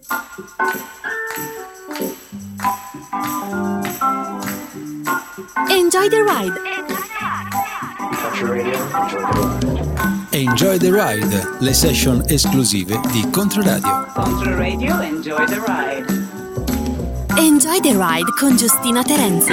Enjoy the ride. Enjoy the ride, le session esclusive di Controradio. Controradio, enjoy the ride. Enjoy the ride con Giustina Terenzi.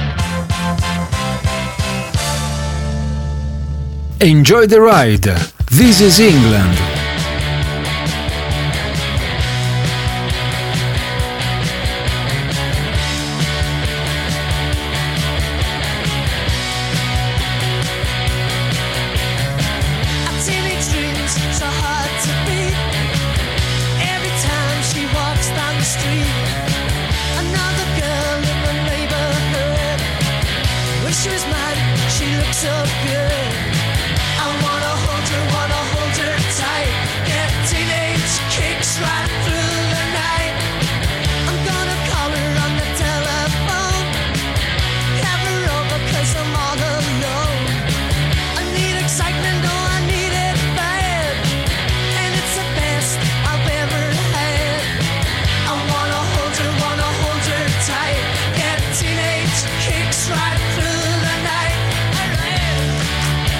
Enjoy the Ride, This is England. Right through the night.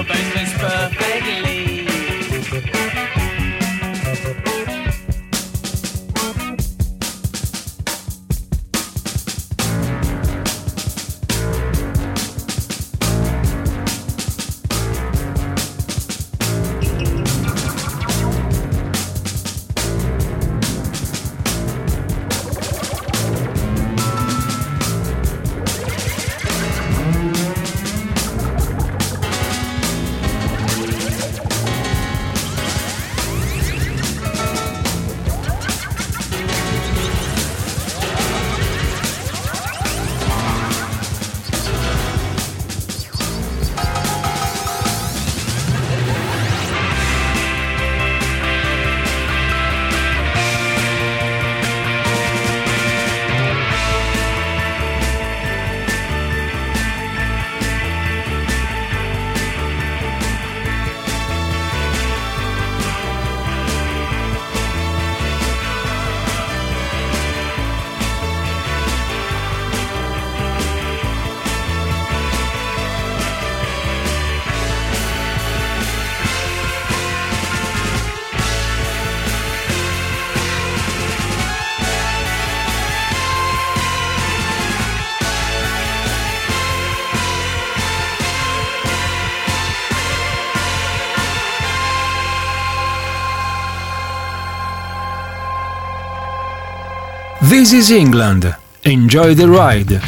bass fits perfectly. This is England. Enjoy the ride.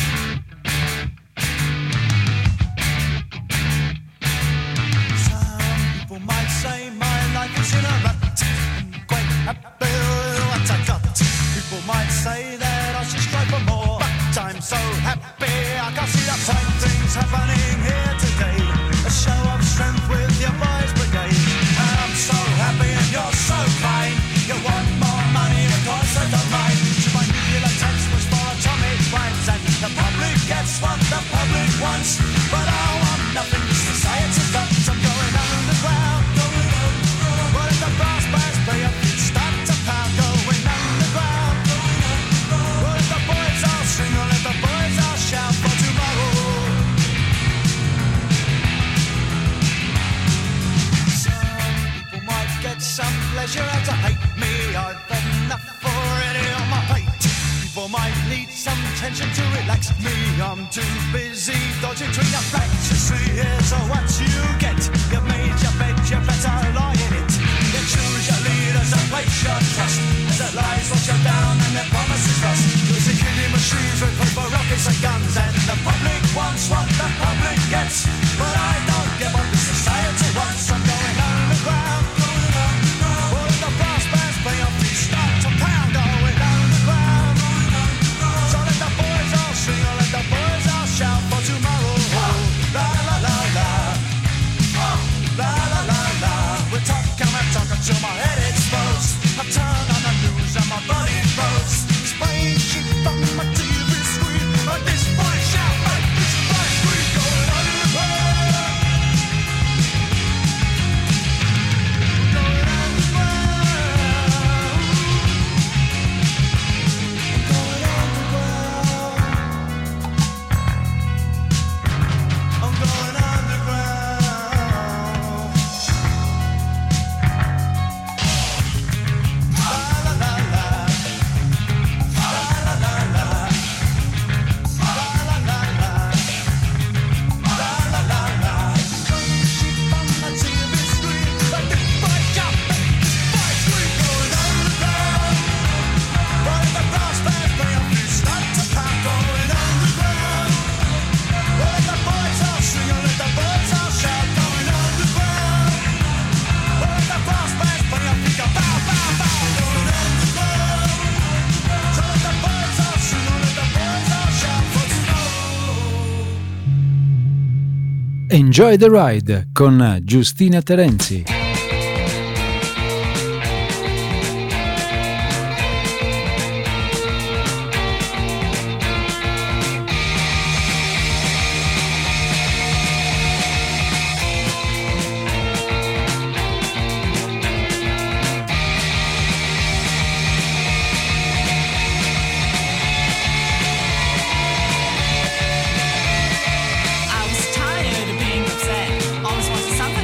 Enjoy the Ride con Giustina Terenzi. I was tired of being upset. Always wanted something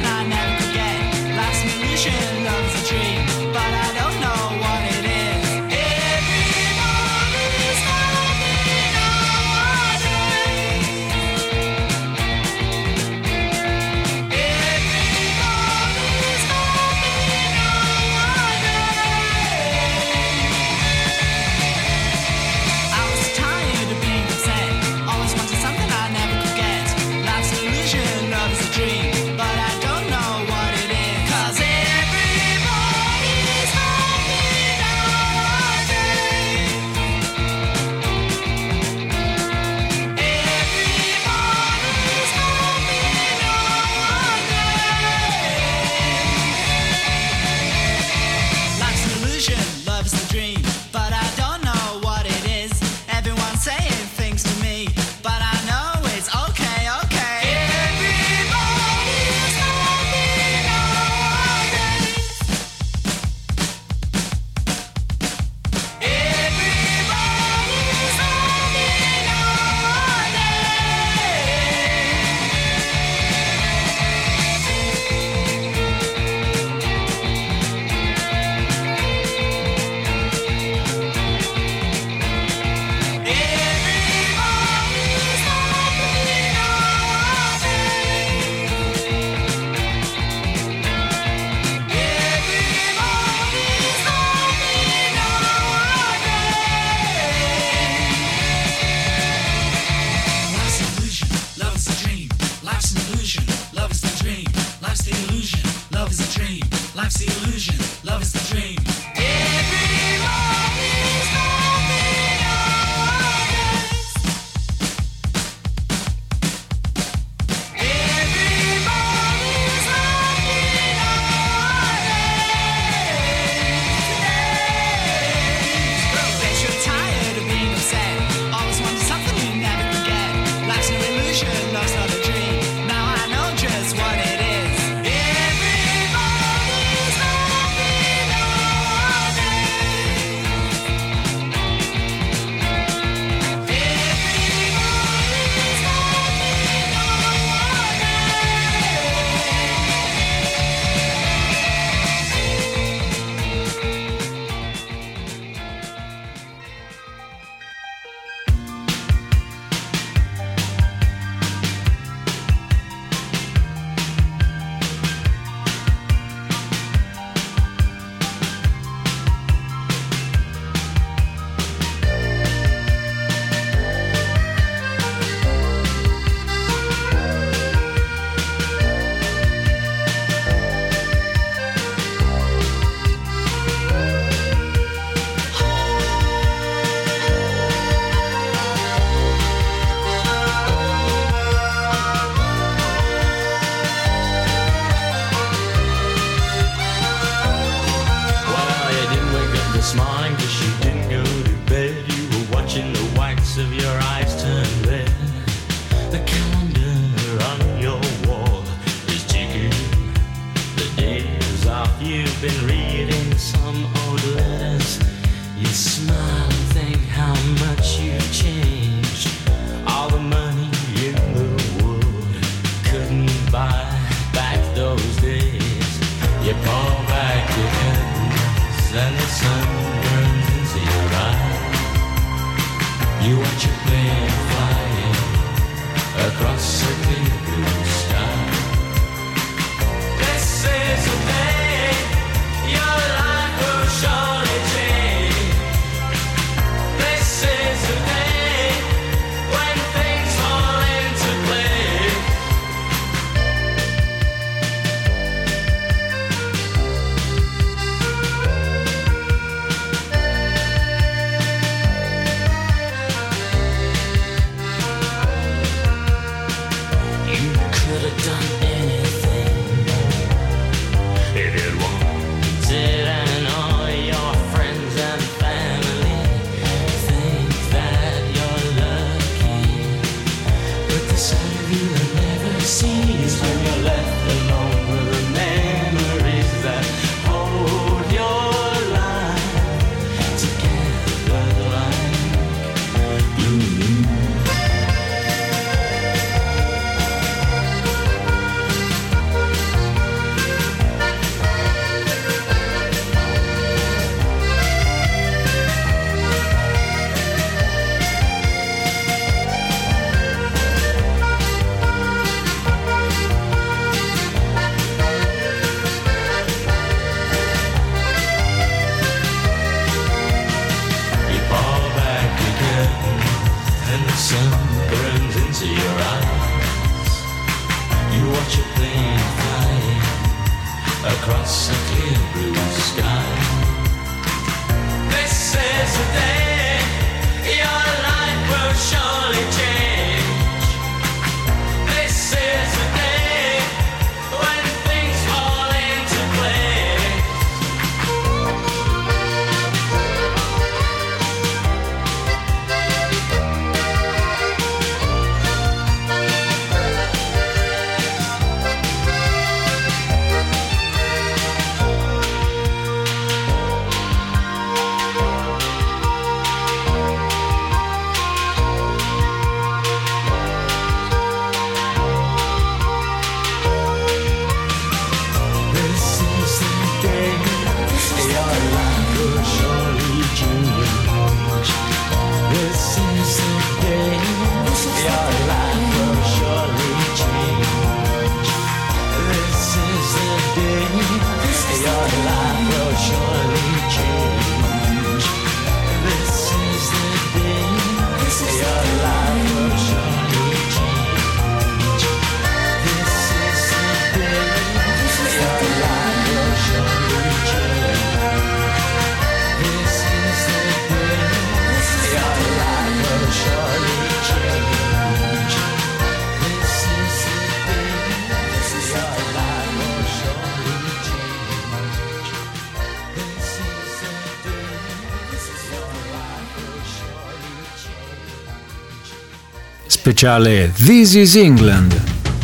You watch a plane flying across a clear blue sky. This is the day your life will surely change. This is the day when things fall into place. You could have done anything if you'd wanted, and all your friends and family think that you're lucky. But the side of you they'll never see is when you're left alone with the memories that hold your life together like glue. You fall back again, and the sun burns into your eyes. You watch a plane flying across a clear blue sky. This is the day your life will surely change. This is the day when things fall into place. This is the day your life will surely change. This is the day your life will surely change. This is the day your life will surely change. This is the day your life will surely change. This is the day your life will surely change. This is the day your life will surely change. This is the day your life will surely change. This is the day your life will surely change. Speciale This is England.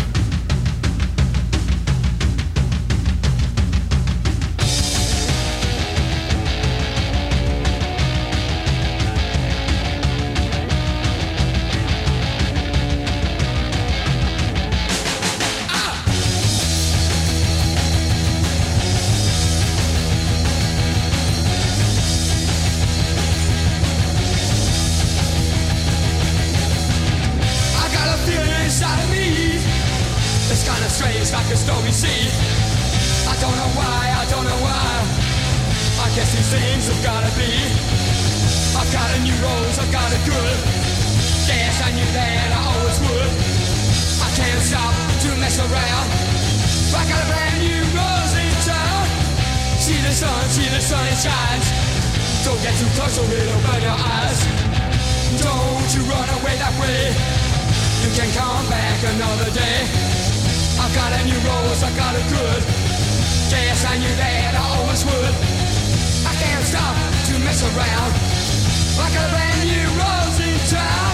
I got a feeling inside of me. It's kinda strange, like a stormy sea. I don't know why, I don't know why. I guess these things have gotta be. I've got a new rose, I've got it good. Yes, I knew that I always would. I can't stop to mess around. I got a brand new rose in town. See the sun, it shines. Don't get too close or it'll burn your eyes. Don't you run away that way. You can come back another day. I've got a new rose, I got it good. Yes, I knew that I always would. I can't stop to mess around. I got a brand new rose in town.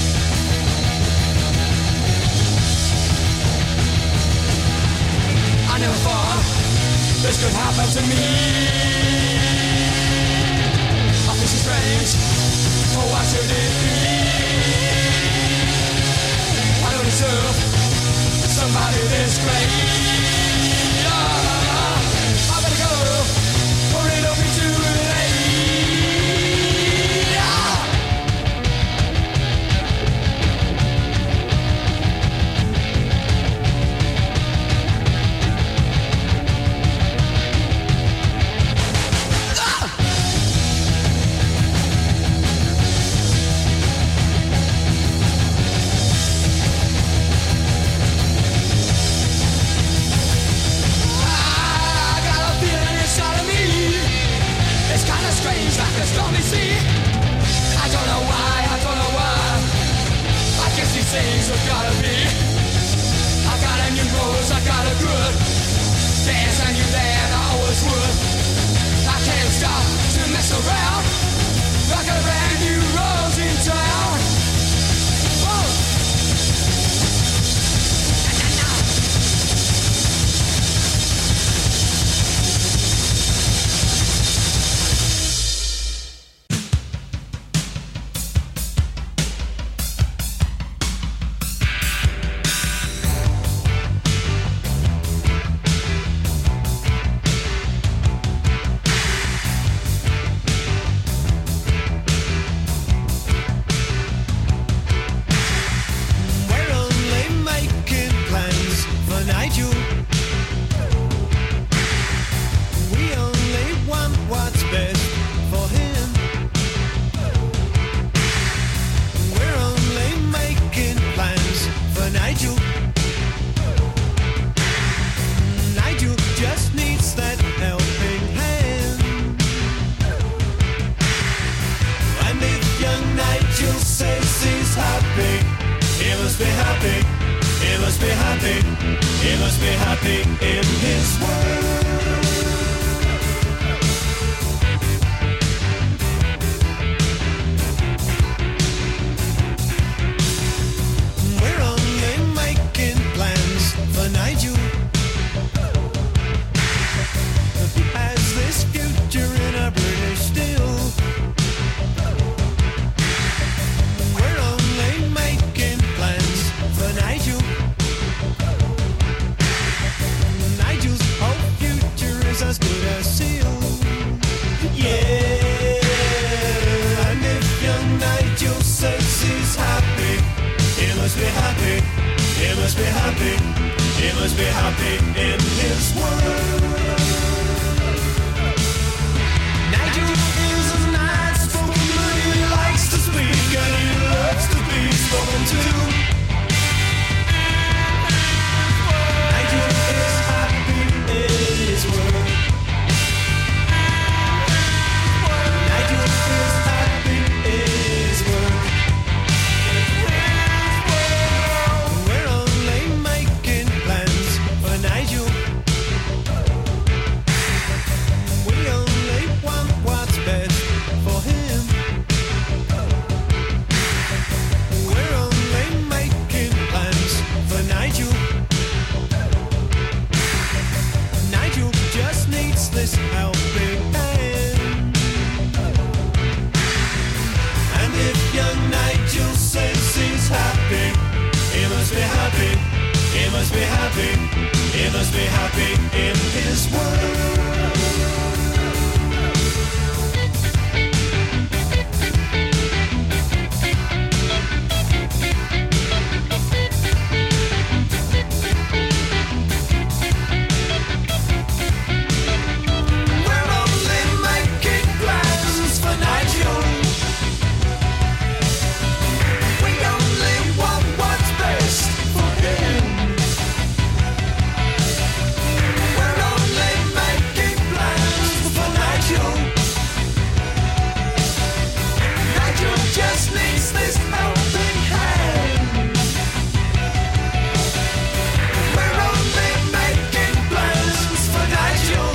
I never thought this could happen to me. I feel so strange. Oh, why should it be? I don't deserve somebody this great. I better go, or it'll be too late. happy. He must be happy in his world. We're only making plans for Nigel. He has this future in a British steel. We're only making plans for Nigel. Nigel's whole future is as good as sealed. Yeah, and if young Nigel says he's happy, he must be happy. He must be happy. He must be happy in his world. Nigel is a nice spoken man. He likes to speak and he loves to be spoken to. Nigel is happy in his world. Nigel is happy in his world. We're only making plans for Nigel. We only want what's best for him. We're only making plans for Nigel. Nigel just needs this helping hand. And if young Nigel says he's happy, he must be happy. He must be happy. He must be happy in his world. We're only making plans for Nigel. We only want what's best for him. We're only making plans for Nigel. Nigel just needs this helping hand. We're only making plans for Nigel.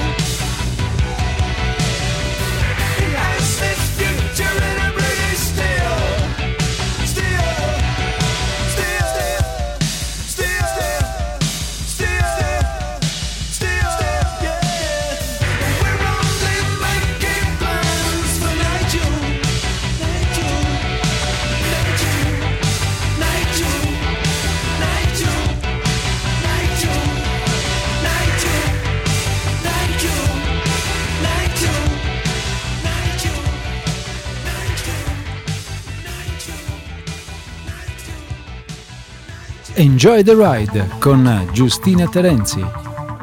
He has this future in a British steel. Steel. Steel. Steel. Steel. Steel. Yeah. We're only making plans for Nigel. Nigel. Nigel. Nigel. Nigel. Nigel. Nigel. Nigel. Nigel. Nigel. Enjoy the Ride con Giustina Terenzi.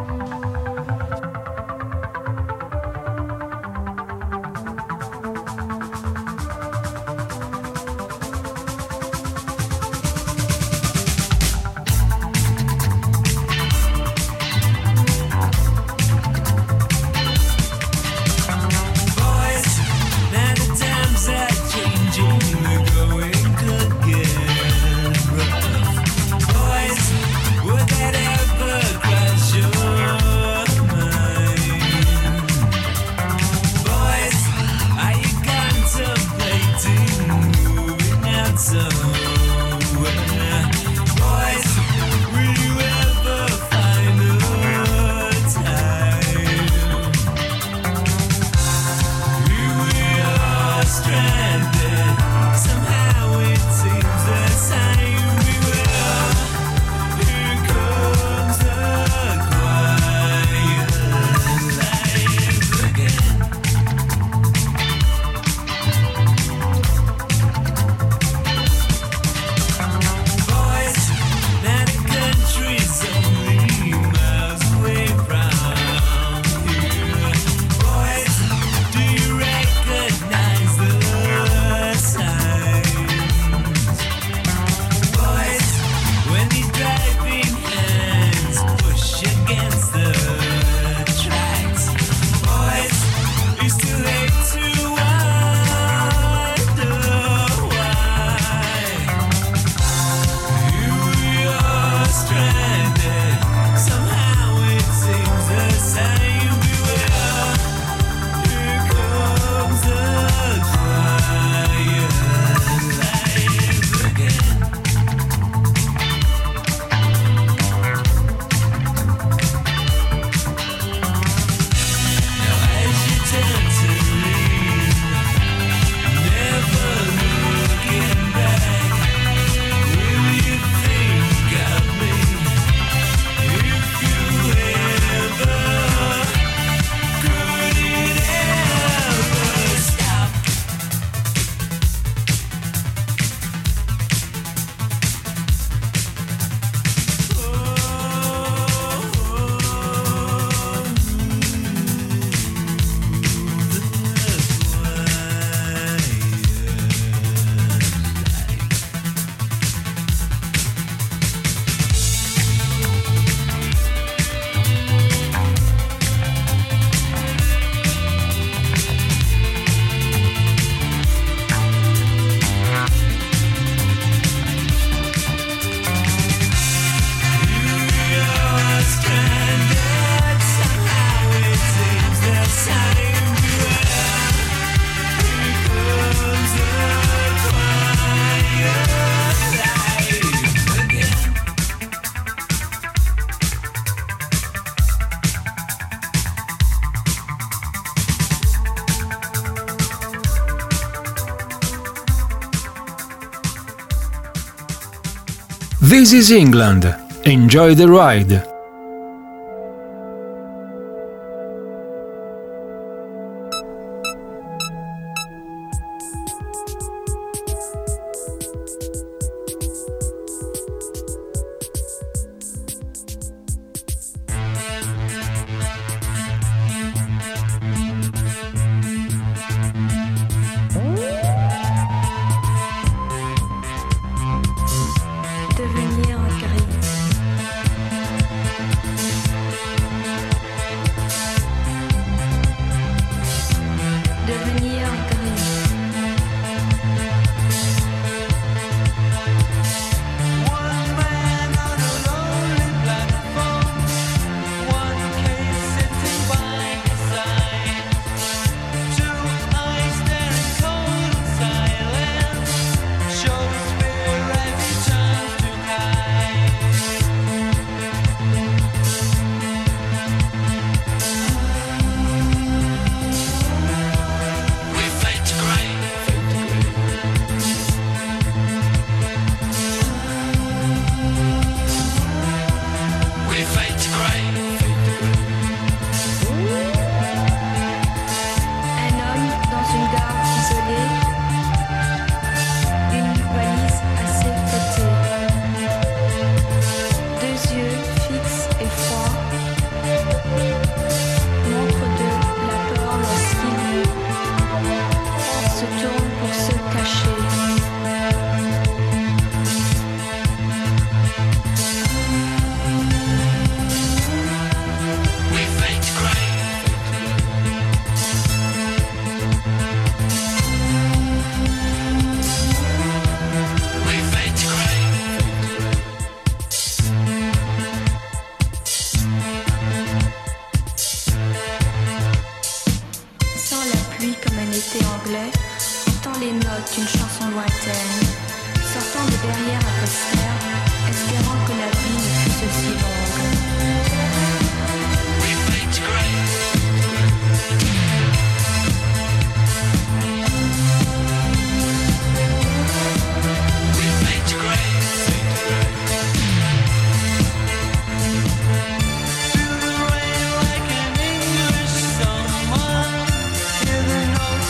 Boys, now the times are changing, we're going to get rough. Boys, would that ever cross your This is England. Enjoy the ride.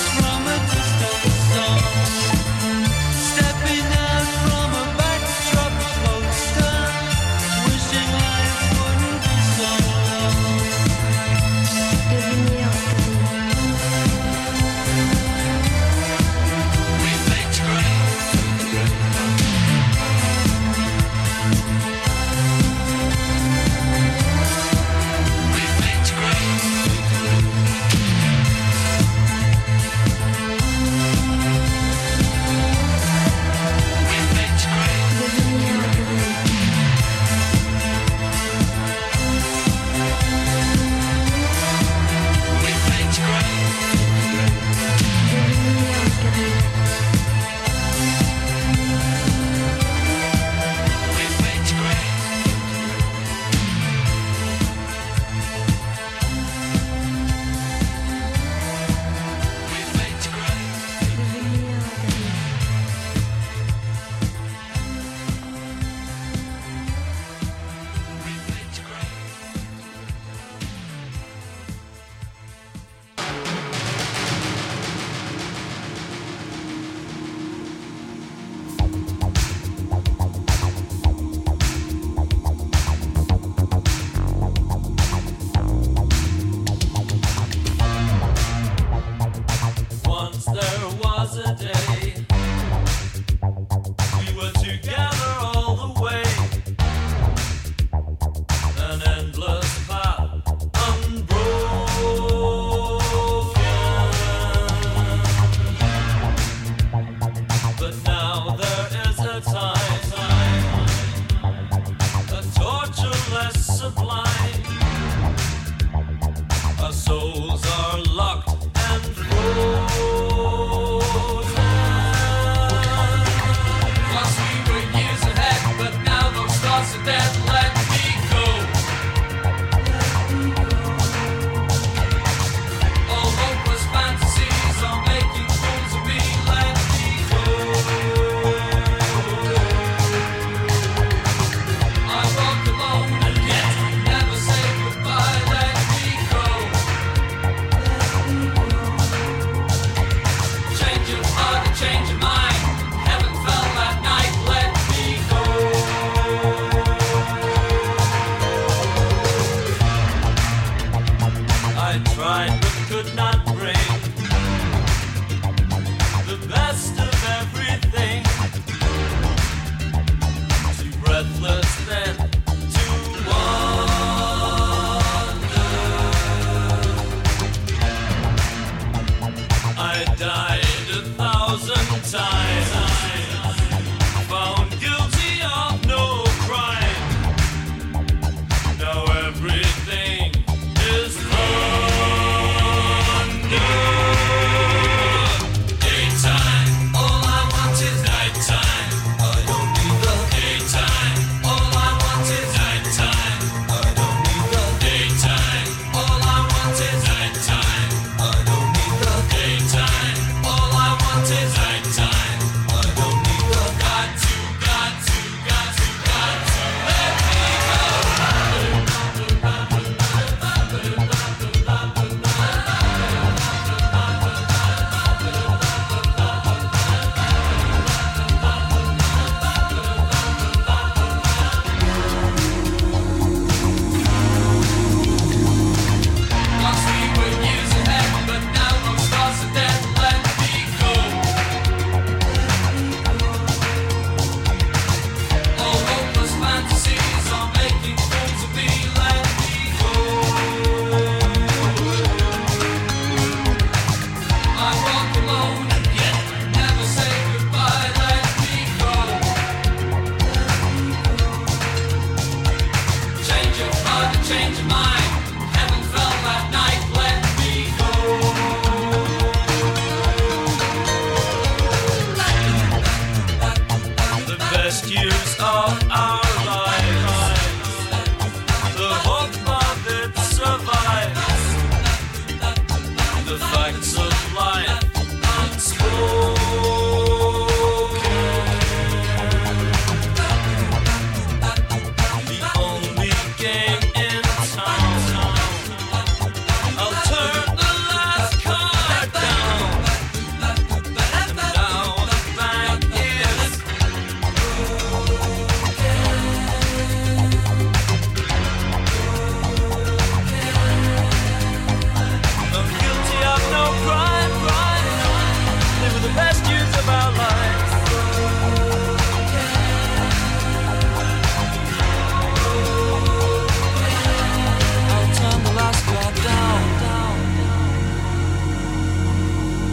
Stepping out from a backdrop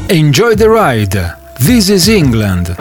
Enjoy the Ride. This is England.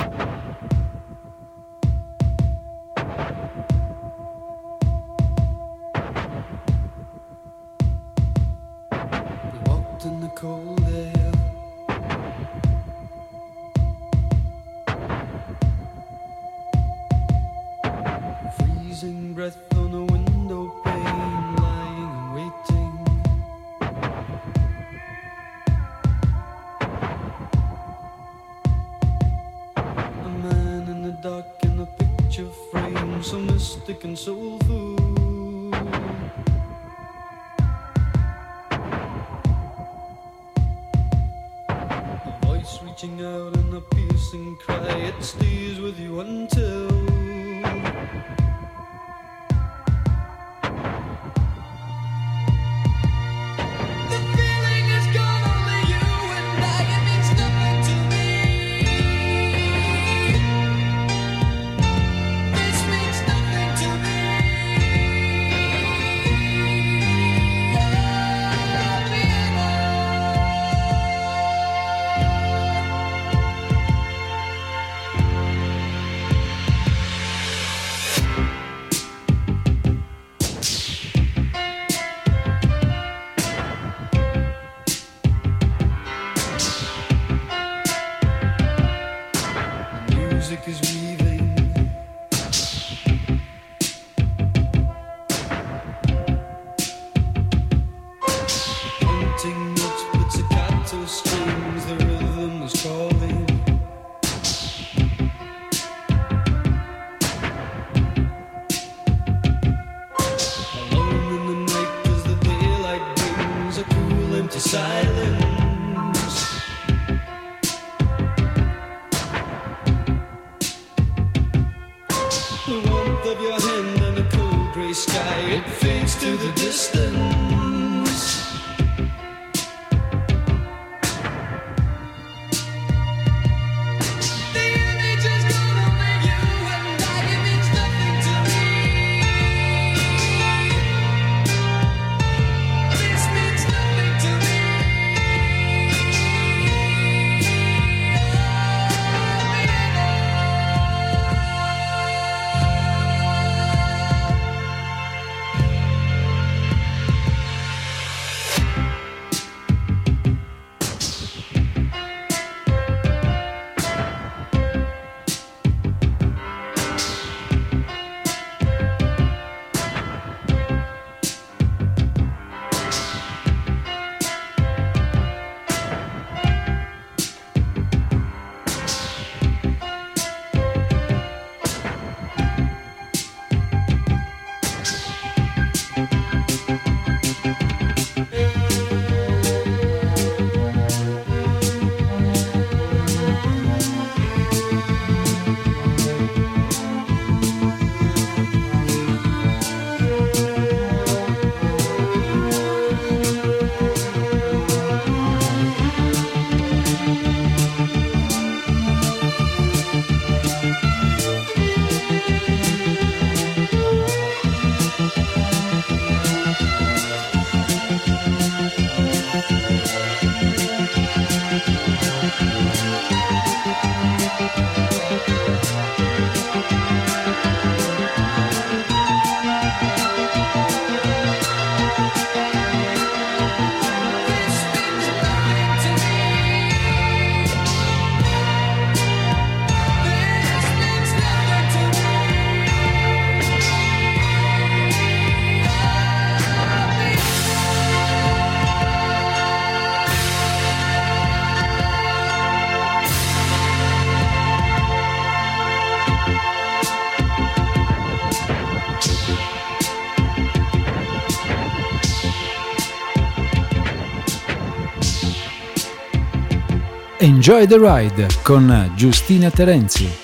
Enjoy the Ride con Giustina Terenzi.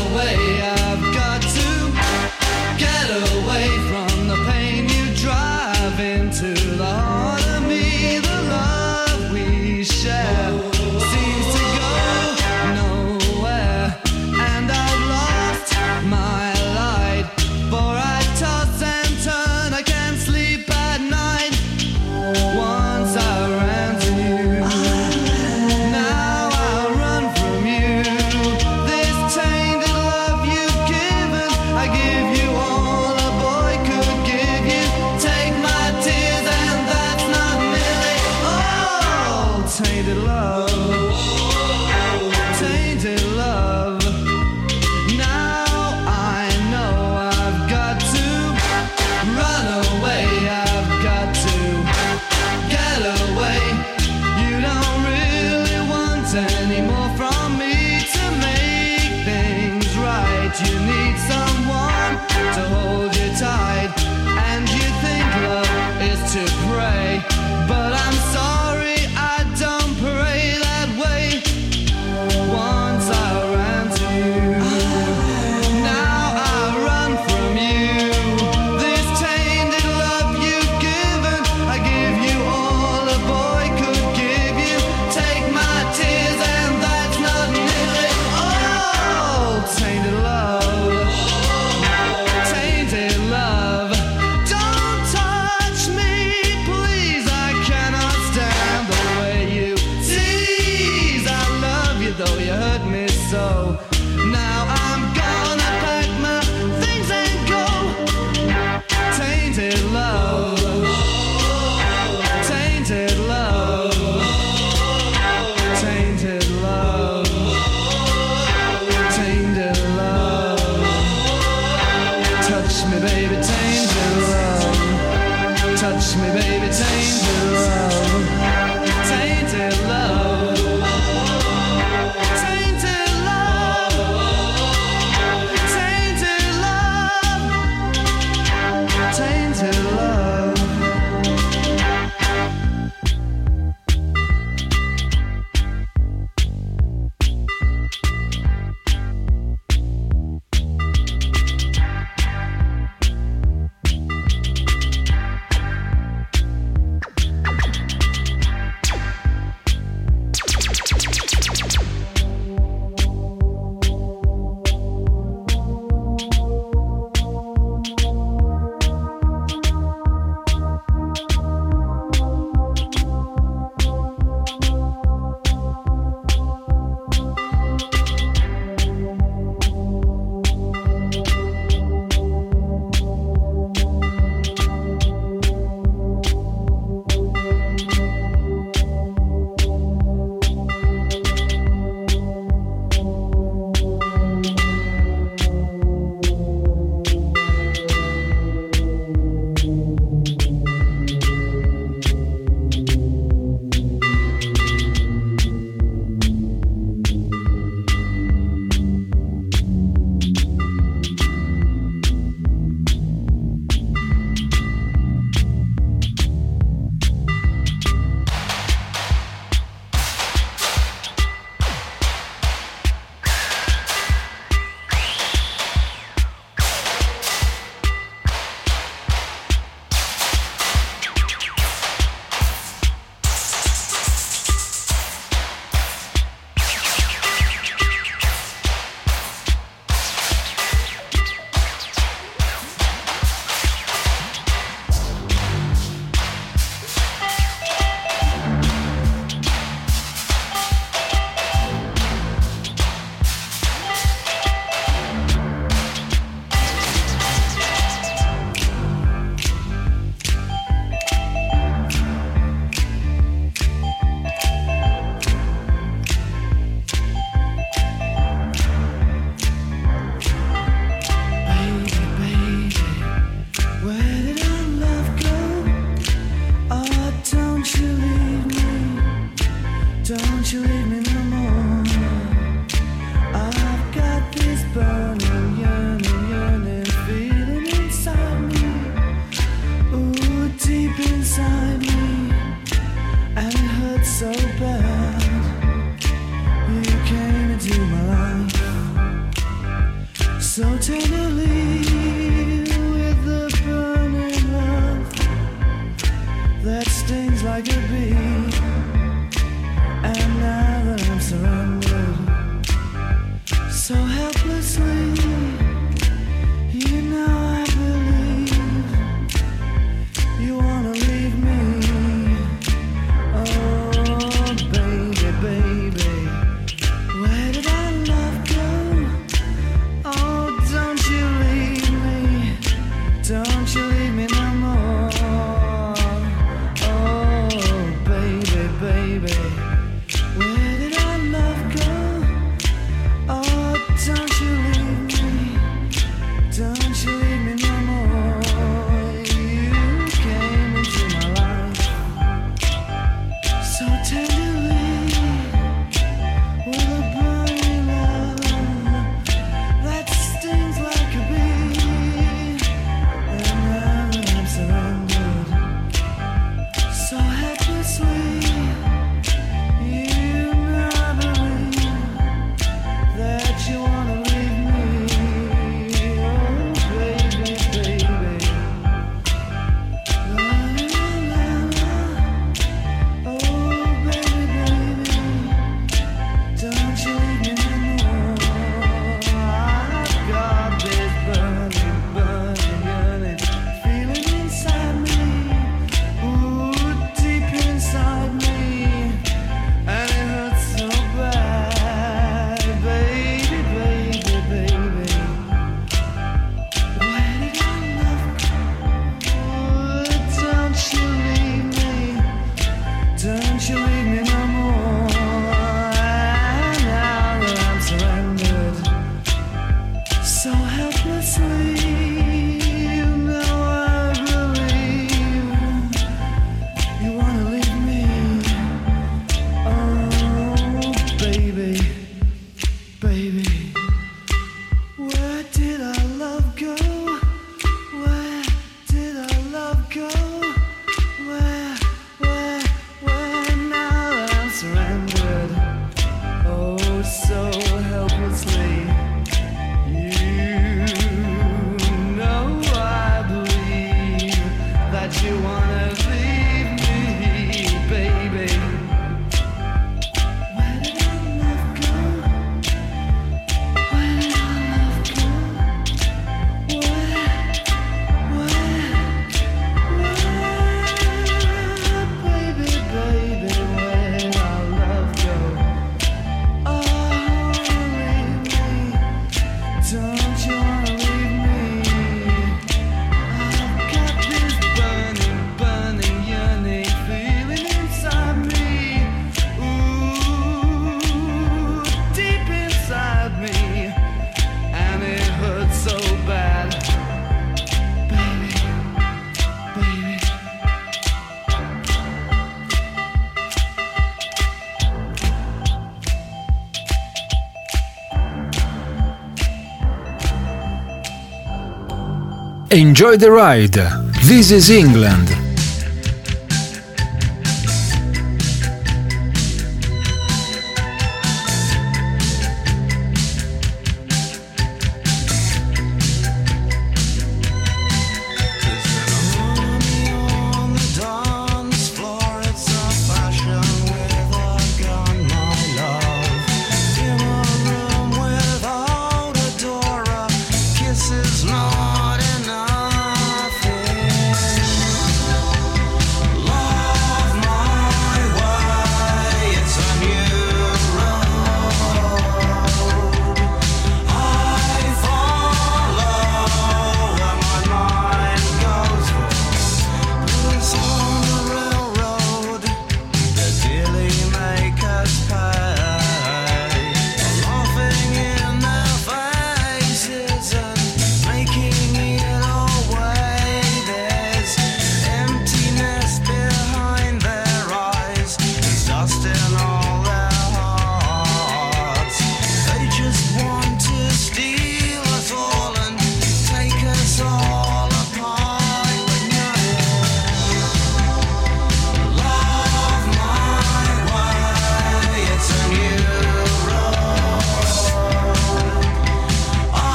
Away, I've got to get away from the pain you drive. tainted love, tainted love. Now I know I've got to run away, I've got to get away. You don't really want any more from me to make things right. You need someone to hold you tight, and you think love is to pray, but I'm sorry, I don't pray that way. Once I ran to you, now I run from you. This tainted love you've given, I give you all a boy could give you. Take my tears and that's not nearly all. Tainted love, tainted love. Don't touch me, please, I cannot stand the way you tease. I love you though you hurt me so. Now I'm gonna pack my things and go. Tainted love, tainted love, tainted love, tainted love. Touch me, baby, tainted love. Touch me, baby, tainted love. Tainted love. Tainted love. Tainted love. Tainted love. So tenderly with the burning love that stings like a bee. And now that I'm surrounded so helplessly, you know I believe you wanna leave me. Oh baby, baby, where did our love go? Oh, don't you leave me, don't you leave me no more. Oh baby, baby, Enjoy the Ride. This is England.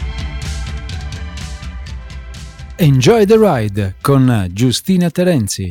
Enjoy the Ride con Giustina Terenzi.